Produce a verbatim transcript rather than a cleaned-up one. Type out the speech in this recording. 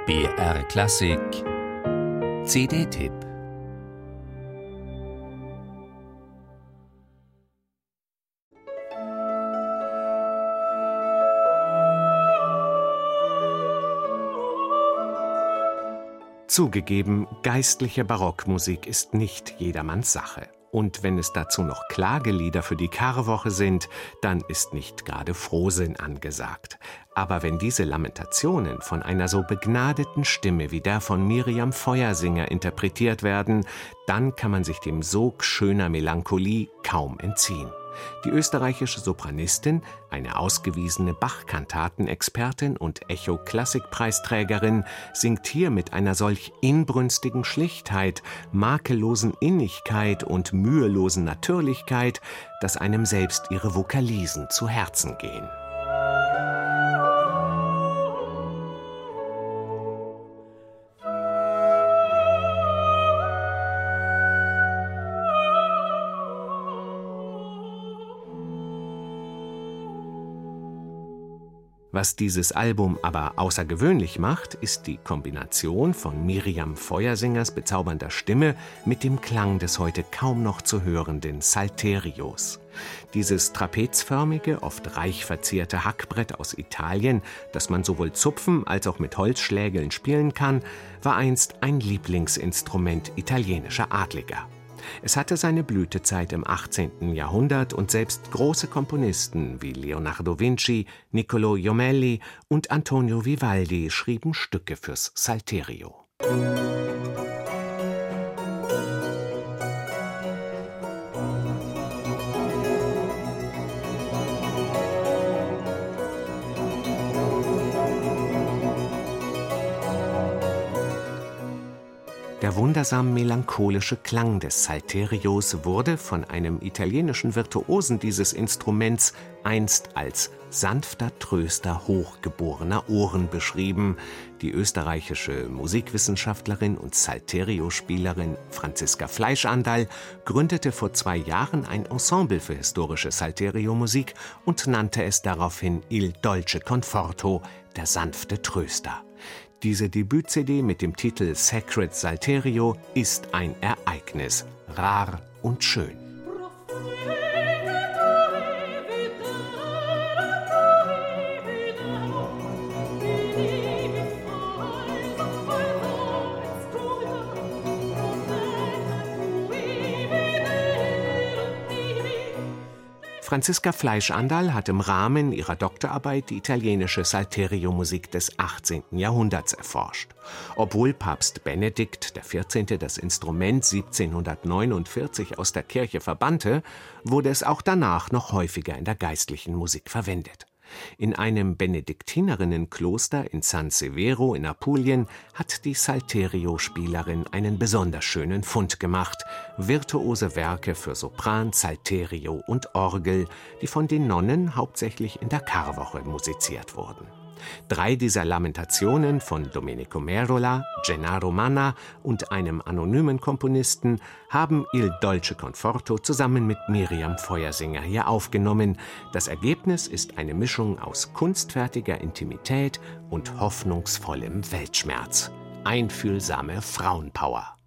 B R Klassik C D-Tipp. Zugegeben, geistliche Barockmusik ist nicht jedermanns Sache. Und wenn es dazu noch Klagelieder für die Karwoche sind, dann ist nicht gerade Frohsinn angesagt. Aber wenn diese Lamentationen von einer so begnadeten Stimme wie der von Miriam Feuersinger interpretiert werden, dann kann man sich dem Sog schöner Melancholie kaum entziehen. Die österreichische Sopranistin, eine ausgewiesene Bach-Kantaten-Expertin und Echo-Klassikpreisträgerin, singt hier mit einer solch inbrünstigen Schlichtheit, makellosen Innigkeit und mühelosen Natürlichkeit, dass einem selbst ihre Vokalisen zu Herzen gehen. Was dieses Album aber außergewöhnlich macht, ist die Kombination von Miriam Feuersingers bezaubernder Stimme mit dem Klang des heute kaum noch zu hörenden Salterios. Dieses trapezförmige, oft reich verzierte Hackbrett aus Italien, das man sowohl zupfen als auch mit Holzschlägeln spielen kann, war einst ein Lieblingsinstrument italienischer Adliger. Es hatte seine Blütezeit im achtzehnten Jahrhundert und selbst große Komponisten wie Leonardo Vinci, Niccolò Jommelli und Antonio Vivaldi schrieben Stücke fürs Salterio. Der wundersam melancholische Klang des Salterios wurde von einem italienischen Virtuosen dieses Instruments einst als sanfter Tröster hochgeborener Ohren beschrieben. Die österreichische Musikwissenschaftlerin und Salterio-Spielerin Franziska Fleischandal gründete vor zwei Jahren ein Ensemble für historische Salterio-Musik und nannte es daraufhin Il Dolce Conforto, der sanfte Tröster. Diese Debüt-C D mit dem Titel Sacred Salterio ist ein Ereignis, rar und schön. Franziska Fleischandal hat im Rahmen ihrer Doktorarbeit die italienische Salterio-Musik des achtzehnten Jahrhunderts erforscht. Obwohl Papst Benedikt der vierzehnte das Instrument siebzehnhundertneunundvierzig aus der Kirche verbannte, wurde es auch danach noch häufiger in der geistlichen Musik verwendet. In einem Benediktinerinnenkloster in San Severo in Apulien hat die Salterio-Spielerin einen besonders schönen Fund gemacht: virtuose Werke für Sopran, Salterio und Orgel, die von den Nonnen hauptsächlich in der Karwoche musiziert wurden. Drei dieser Lamentationen von Domenico Merola, Gennaro Manna und einem anonymen Komponisten haben Il Dolce Conforto zusammen mit Miriam Feuersinger hier aufgenommen. Das Ergebnis ist eine Mischung aus kunstfertiger Intimität und hoffnungsvollem Weltschmerz. Einfühlsame Frauenpower.